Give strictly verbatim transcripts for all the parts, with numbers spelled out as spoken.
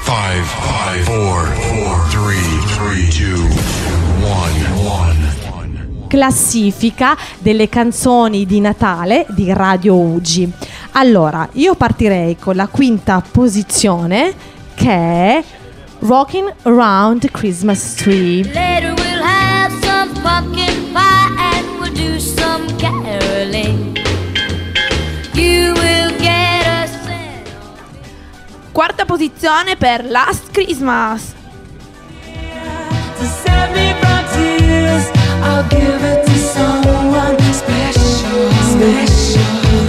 five, five, four, four, three, three, two, one, one. Classifica delle canzoni di Natale di Radio U G I. Allora, io partirei con la quinta posizione, che è Rockin' Around the Christmas Tree. Later we'll have some pumpkin pie and we'll do some caroling. You will get a cent. Quarta posizione per Last Christmas. To save me from tears, I'll give it to someone special, special.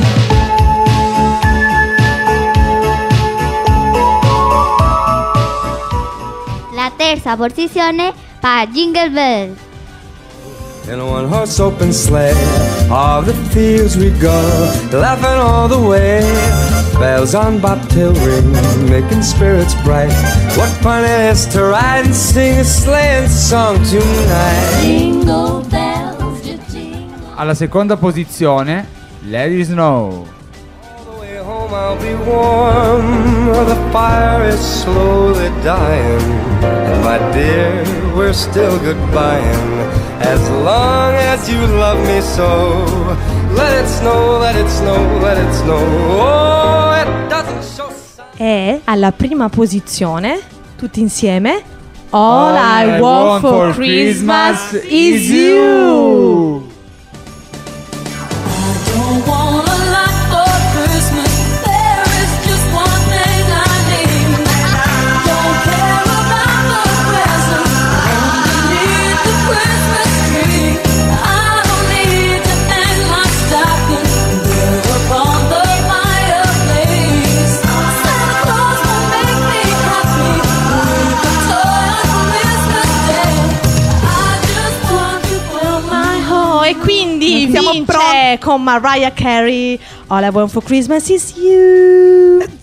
La terza posizione per Jingle Bells. In a one horse open sleigh, all the fields we go, laughing all the way. Bells on bobtail ring, making spirits bright. What fun it is to ride and sing a sleighing song tonight. Jingle bells, jingle. Alla seconda posizione, Let It Snow. All the way home I'll be warm, the fire is slowly dying. And my dear, we're still goodbying. As long as you love me so, let it snow, let it snow, let it snow. Oh, it doesn't show signs. E alla prima posizione, tutti insieme, All, All I, want, for Christmas, is you. Don't want a lot for Christmas. There is just one thing I need. Don't care about the presents. Only need the Christmas tree. I don't need to hang my stocking there upon the fireplace. Santa Claus will make me happy with a toy on Christmas Day. I just want to put my Oh, e quindi Siamo vince pronti. con Mariah Carey, All I Want for Christmas is You.